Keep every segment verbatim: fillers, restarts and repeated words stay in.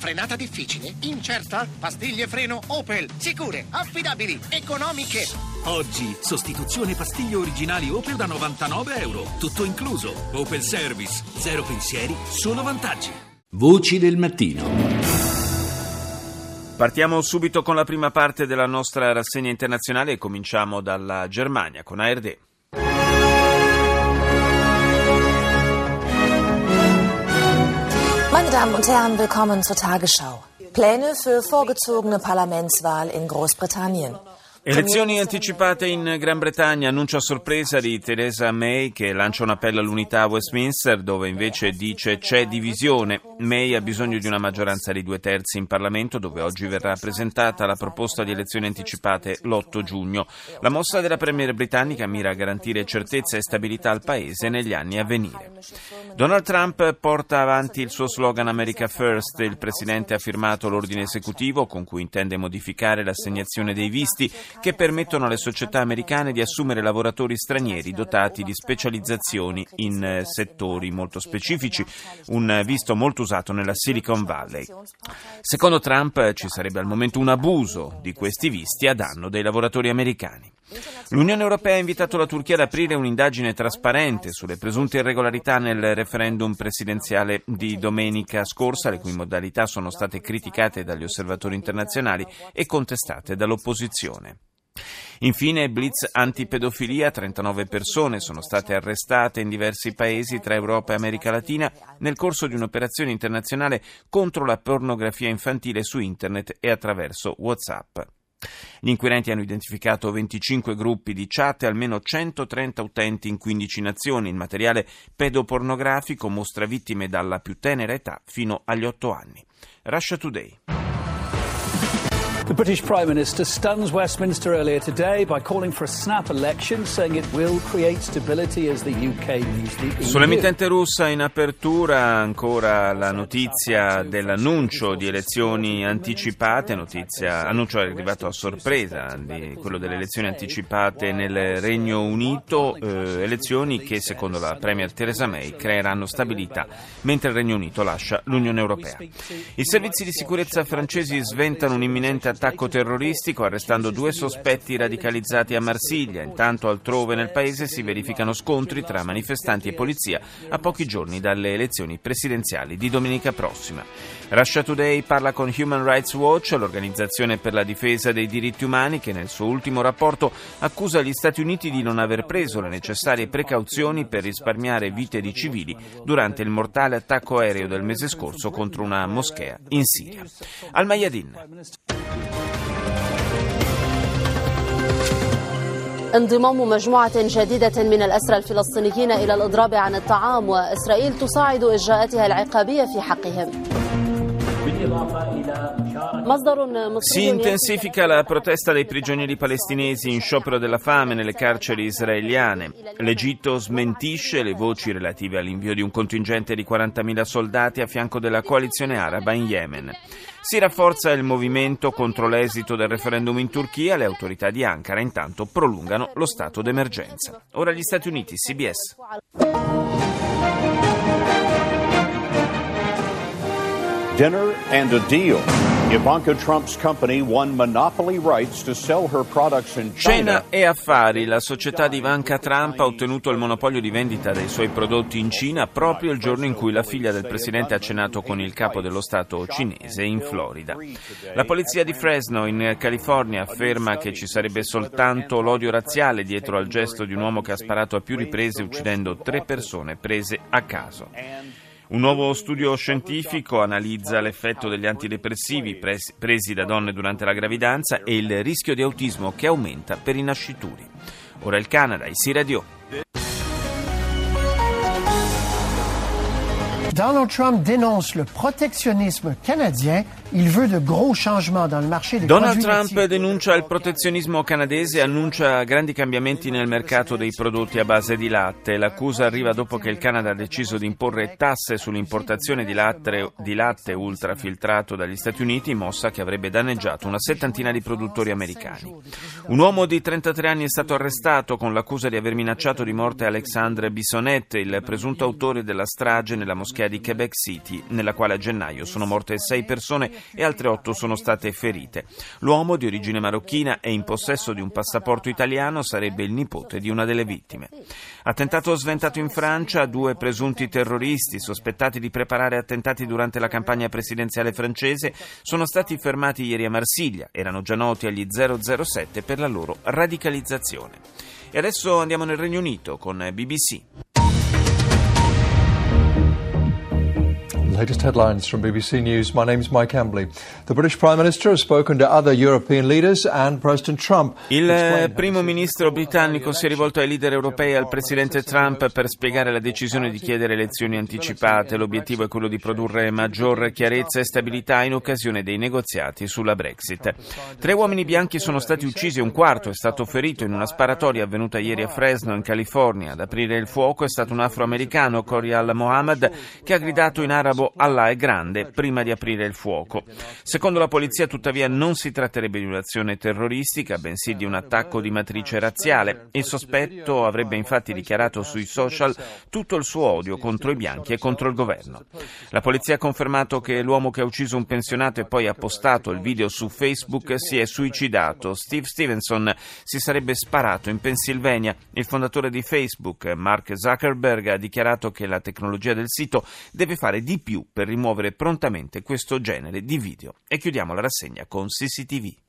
Frenata difficile? Incerta? Pastiglie freno Opel. Sicure, affidabili, economiche. Oggi, sostituzione pastiglie originali Opel da novantanove euro. Tutto incluso. Opel Service. Zero pensieri, solo vantaggi. Voci del mattino. Partiamo subito con la prima parte della nostra rassegna internazionale e cominciamo dalla Germania con A R D. Meine Damen und Herren, willkommen zur Tagesschau. Pläne für vorgezogene Parlamentswahl in Großbritannien. Elezioni anticipate in Gran Bretagna, annuncio a sorpresa di Theresa May che lancia un appello all'unità a Westminster, dove invece dice c'è divisione. May ha bisogno di una maggioranza di due terzi in Parlamento, dove oggi verrà presentata la proposta di elezioni anticipate l'otto giugno. La mossa della premier britannica mira a garantire certezza e stabilità al paese negli anni a venire. Donald Trump porta avanti il suo slogan America First. Il presidente ha firmato l'ordine esecutivo con cui intende modificare l'assegnazione dei visti che permettono alle società americane di assumere lavoratori stranieri dotati di specializzazioni in settori molto specifici, un visto molto usato nella Silicon Valley. Secondo Trump ci sarebbe al momento un abuso di questi visti a danno dei lavoratori americani. L'Unione Europea ha invitato la Turchia ad aprire un'indagine trasparente sulle presunte irregolarità nel referendum presidenziale di domenica scorsa, le cui modalità sono state criticate dagli osservatori internazionali e contestate dall'opposizione. Infine, blitz antipedofilia, trentanove persone sono state arrestate in diversi paesi tra Europa e America Latina nel corso di un'operazione internazionale contro la pornografia infantile su internet e attraverso WhatsApp. Gli inquirenti hanno identificato venticinque gruppi di chat e almeno centotrenta utenti in quindici nazioni. Il materiale pedopornografico mostra vittime dalla più tenera età fino agli otto anni. Russia Today. The British Prime Minister stuns Westminster earlier today by calling for a snap election, saying it will create stability as the U K leaves the E U. Sull'emittente russa in apertura ancora la notizia dell'annuncio di elezioni anticipate, notizia, annuncio è arrivato a sorpresa di quello delle elezioni anticipate nel Regno Unito, eh, elezioni che secondo la Premier Theresa May creeranno stabilità mentre il Regno Unito lascia l'Unione Europea. I servizi di sicurezza francesi sventano un imminente attacco terroristico arrestando due sospetti radicalizzati a Marsiglia. Intanto altrove nel paese si verificano scontri tra manifestanti e polizia a pochi giorni dalle elezioni presidenziali di domenica prossima. Russia Today parla con Human Rights Watch, l'organizzazione per la difesa dei diritti umani, che nel suo ultimo rapporto accusa gli Stati Uniti di non aver preso le necessarie precauzioni per risparmiare vite di civili durante il mortale attacco aereo del mese scorso contro una moschea in Siria. Al Mayadin. انضمام مجموعة جديدة من الأسرى الفلسطينيين إلى الإضراب عن الطعام وإسرائيل تصاعد إجراءاتها العقابية في حقهم. Si intensifica la protesta dei prigionieri palestinesi in sciopero della fame nelle carceri israeliane. L'Egitto smentisce le voci relative all'invio di un contingente di quarantamila soldati a fianco della coalizione araba in Yemen. Si rafforza il movimento contro l'esito del referendum in Turchia. Le autorità di Ankara intanto prolungano lo stato d'emergenza. Ora gli Stati Uniti, C B S. Dinner and a deal. Ivanka Trump's company won monopoly rights to sell her products in China. Cena e affari. La società di Ivanka Trump ha ottenuto il monopolio di vendita dei suoi prodotti in Cina proprio il giorno in cui la figlia del presidente ha cenato con il capo dello Stato cinese in Florida. La polizia di Fresno, in California, afferma che ci sarebbe soltanto l'odio razziale dietro al gesto di un uomo che ha sparato a più riprese uccidendo tre persone prese a caso. Un nuovo studio scientifico analizza l'effetto degli antidepressivi presi, presi da donne durante la gravidanza e il rischio di autismo che aumenta per i nascituri. Ora il Canada, I C I Radio. Donald Trump dénonce le protectionnisme canadien. Il veut de gros changements dans le marché des Donald produits Trump laitiers. denuncia il protezionismo canadese e annuncia grandi cambiamenti nel mercato dei prodotti a base di latte. L'accusa arriva dopo che il Canada ha deciso di imporre tasse sull'importazione di latte, di latte ultrafiltrato dagli Stati Uniti, mossa che avrebbe danneggiato una settantina di produttori americani. Un uomo di trentatré anni è stato arrestato con l'accusa di aver minacciato di morte Alexandre Bissonnette, il presunto autore della strage nella moschea di Quebec City, nella quale a gennaio sono morte sei persone e altre otto sono state ferite. L'uomo, di origine marocchina e in possesso di un passaporto italiano, sarebbe il nipote di una delle vittime. Attentato sventato in Francia, due presunti terroristi sospettati di preparare attentati durante la campagna presidenziale francese sono stati fermati ieri a Marsiglia. Erano già noti agli zero zero sette per la loro radicalizzazione. E adesso andiamo nel Regno Unito con B B C. Latest headlines from B B C News. My name is Mike Hambley. The British Prime Minister has spoken to other European leaders and President Trump. Il primo ministro britannico si è rivolto ai leader europei e al presidente Trump per spiegare la decisione di chiedere elezioni anticipate. L'obiettivo è quello di produrre maggior chiarezza e stabilità in occasione dei negoziati sulla Brexit. Tre uomini bianchi sono stati uccisi e un quarto è stato ferito in una sparatoria avvenuta ieri a Fresno, in California. Ad aprire il fuoco è stato un afroamericano, Corial Mohammed, che ha gridato in arabo "Allah è grande" prima di aprire il fuoco. Secondo la polizia, tuttavia, non si tratterebbe di un'azione terroristica, bensì di un attacco di matrice razziale. Il sospetto avrebbe infatti dichiarato sui social tutto il suo odio contro i bianchi e contro il governo. La polizia ha confermato che l'uomo che ha ucciso un pensionato e poi ha postato il video su Facebook si è suicidato. Steve Stevenson si sarebbe sparato in Pennsylvania. Il fondatore di Facebook, Mark Zuckerberg, ha dichiarato che la tecnologia del sito deve fare di più per rimuovere prontamente questo genere di video. E chiudiamo la rassegna con C C T V.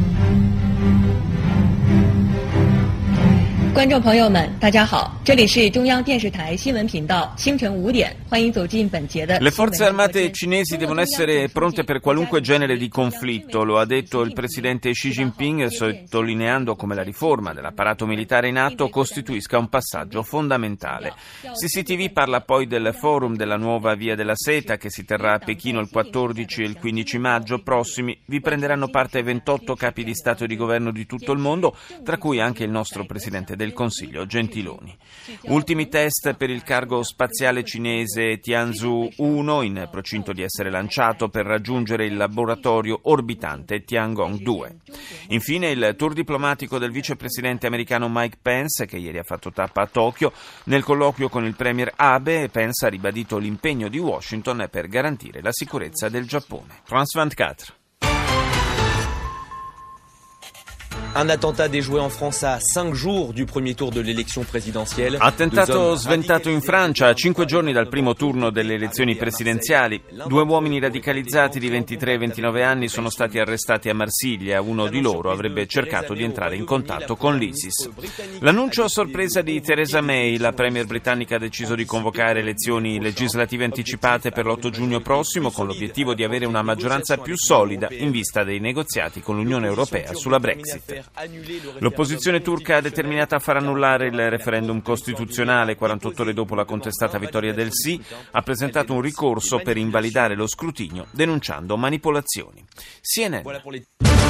观众朋友们，大家好，这里是中央电视台新闻频道，清晨五点，欢迎走进本节的。 Le forze armate cinesi devono essere pronte per qualunque genere di conflitto, lo ha detto il presidente Xi Jinping, sottolineando come la riforma dell'apparato militare in atto costituisca un passaggio fondamentale. C C T V parla poi del forum della nuova Via della Seta che si terrà a Pechino il quattordici e il quindici maggio prossimi. Vi prenderanno parte ventotto capi di Stato e di Governo di tutto il mondo, tra cui anche il nostro presidente del Consiglio Gentiloni. Ultimi test per il cargo spaziale cinese Tianzhou uno, in procinto di essere lanciato per raggiungere il laboratorio orbitante Tiangong due. Infine il tour diplomatico del vicepresidente americano Mike Pence, che ieri ha fatto tappa a Tokyo. Nel colloquio con il premier Abe, Pence ha ribadito l'impegno di Washington per garantire la sicurezza del Giappone. France ventiquattro. Un attentat déjoué en France à cinq jours du premier tour de l'élection présidentielle. Attentato sventato in Francia a cinque giorni dal primo turno delle elezioni presidenziali. Due uomini radicalizzati di ventitré e ventinove anni sono stati arrestati a Marsiglia. Uno di loro avrebbe cercato di entrare in contatto con l'ISIS. L'annuncio a sorpresa di Theresa May, la premier britannica ha deciso di convocare elezioni legislative anticipate per l'otto giugno prossimo, con l'obiettivo di avere una maggioranza più solida in vista dei negoziati con l'Unione Europea sulla Brexit. L'opposizione turca è determinata a far annullare il referendum costituzionale. quarantotto ore dopo la contestata vittoria del sì, ha presentato un ricorso per invalidare lo scrutinio, denunciando manipolazioni. C N N.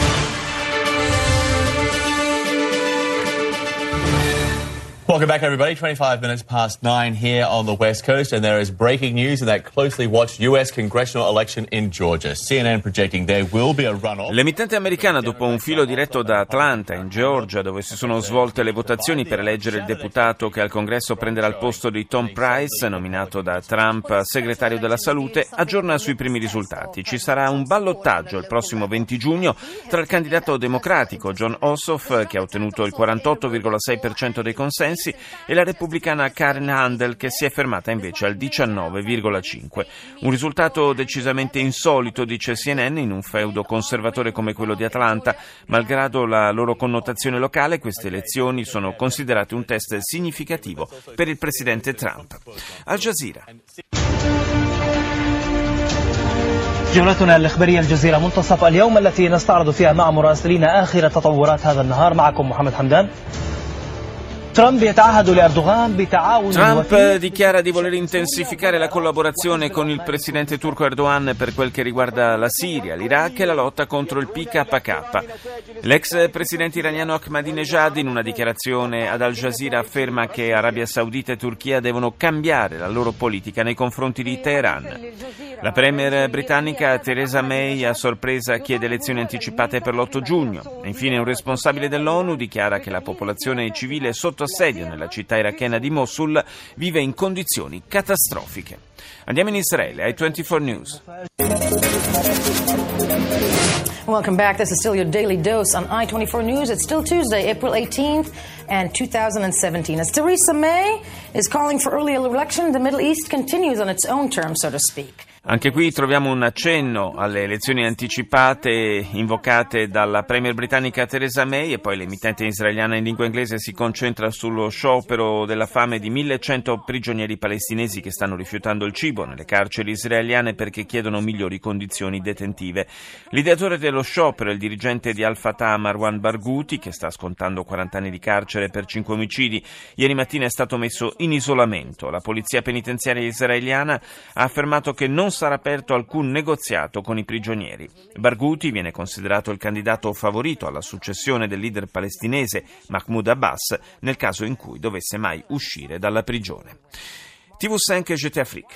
Welcome back, everybody. twenty-five minutes past nine here on the West Coast, and there is breaking news in that closely watched U S congressional election in Georgia. C N N projecting there will be a runoff. L'emittente americana, dopo un filo diretto da Atlanta, in Georgia, dove si sono svolte le votazioni per eleggere il deputato che al Congresso prenderà il posto di Tom Price, nominato da Trump segretario della salute, aggiorna sui primi risultati. Ci sarà un ballottaggio il prossimo venti giugno tra il candidato democratico John Ossoff, che ha ottenuto il quarantotto virgola sei per cento dei consensi, e la repubblicana Karen Handel, che si è fermata invece al diciannove virgola cinque. Un risultato decisamente insolito, dice C N N, in un feudo conservatore come quello di Atlanta. Malgrado la loro connotazione locale, queste elezioni sono considerate un test significativo per il presidente Trump. Al Jazeera. جولتنا الإخبارية الجزيرة منتصف اليوم التي نستعرض فيها مع مراسلين آخر تطورات هذا النهار. معكم محمد حمدان. Trump dichiara di voler intensificare la collaborazione con il presidente turco Erdogan per quel che riguarda la Siria, l'Iraq e la lotta contro il P K K. L'ex presidente iraniano Ahmadinejad, in una dichiarazione ad Al Jazeera, afferma che Arabia Saudita e Turchia devono cambiare la loro politica nei confronti di Teheran. La premier britannica Theresa May a sorpresa chiede elezioni anticipate per l'otto giugno. Infine un responsabile dell'ONU dichiara che la popolazione civile sotto assedio nella città irachena di Mosul vive in condizioni catastrofiche. Andiamo in Israele, ai ventiquattro News. Welcome back. This is still your daily dose on I twenty-four News. It's still Tuesday, April eighteenth and two thousand seventeen. As Theresa May is calling for early election, the Middle East continues on its own terms, so to speak. Anche qui troviamo un accenno alle elezioni anticipate invocate dalla premier britannica Theresa May, e poi l'emittente israeliana in lingua inglese si concentra sullo sciopero della fame di millecento prigionieri palestinesi che stanno rifiutando il cibo nelle carceri israeliane perché chiedono migliori condizioni detentive. L'ideatore dello sciopero è il dirigente di Al-Fatah Marwan Barghouti, che sta scontando quaranta anni di carcere per cinque omicidi. Ieri mattina è stato messo in isolamento. La polizia penitenziaria israeliana ha affermato che non sarà aperto alcun negoziato con i prigionieri. Barghouti viene considerato il candidato favorito alla successione del leader palestinese Mahmoud Abbas nel caso in cui dovesse mai uscire dalla prigione. T V cinque G T Afrique.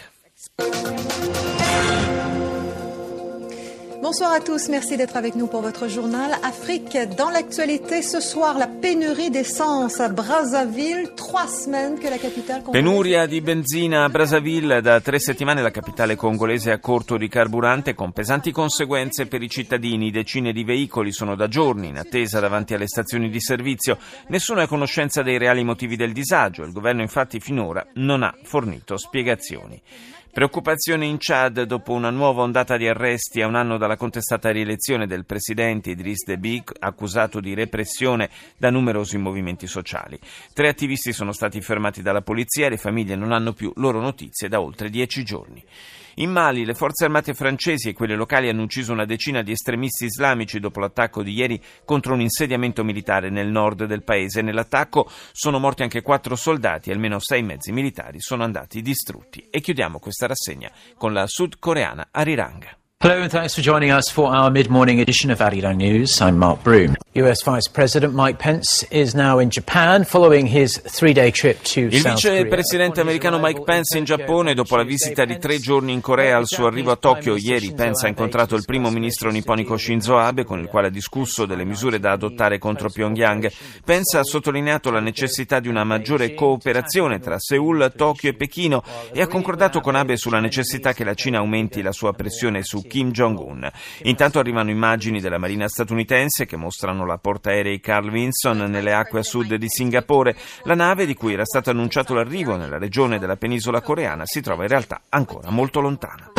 Bonsoir à tous, merci d'être avec nous pour votre journal. Afrique dans l'actualité ce soir, la pénurie d'essence à Brazzaville, trois semaines que la capitale congolaise... Penuria di benzina a Brazzaville, da tre settimane la capitale congolese è a corto di carburante con pesanti conseguenze per i cittadini. Decine di veicoli sono da giorni in attesa davanti alle stazioni di servizio. Nessuno è a conoscenza dei reali motivi del disagio, il governo infatti finora non ha fornito spiegazioni. Preoccupazione in Chad dopo una nuova ondata di arresti a un anno dalla contestata rielezione del presidente Idriss Déby, accusato di repressione da numerosi movimenti sociali. Tre attivisti sono stati fermati dalla polizia e le famiglie non hanno più loro notizie da oltre dieci giorni. In Mali le forze armate francesi e quelle locali hanno ucciso una decina di estremisti islamici dopo l'attacco di ieri contro un insediamento militare nel nord del paese. Nell'attacco sono morti anche quattro soldati e almeno sei mezzi militari sono andati distrutti. E chiudiamo questa rassegna con la sudcoreana Arirang. Hello and thanks for joining us for our mid-morning edition of Arirang News. I'm Mark Broom. U S Vice President Mike Pence is now in Japan following his three-day trip to Il South Korea. Il vicepresidente americano Mike Pence in Giappone dopo la visita di tre giorni in Corea. Al suo arrivo a Tokyo ieri Pence ha incontrato il primo ministro nipponico Shinzo Abe, con il quale ha discusso delle misure da adottare contro Pyongyang. Pence ha sottolineato la necessità di una maggiore cooperazione tra Seul, Tokyo e Pechino e ha concordato con Abe sulla necessità che la Cina aumenti la sua pressione su Kim Jong-un. Intanto arrivano immagini della marina statunitense che mostrano la portaerei Carl Vinson nelle acque a sud di Singapore. La nave, di cui era stato annunciato l'arrivo nella regione della penisola coreana, si trova in realtà ancora molto lontana.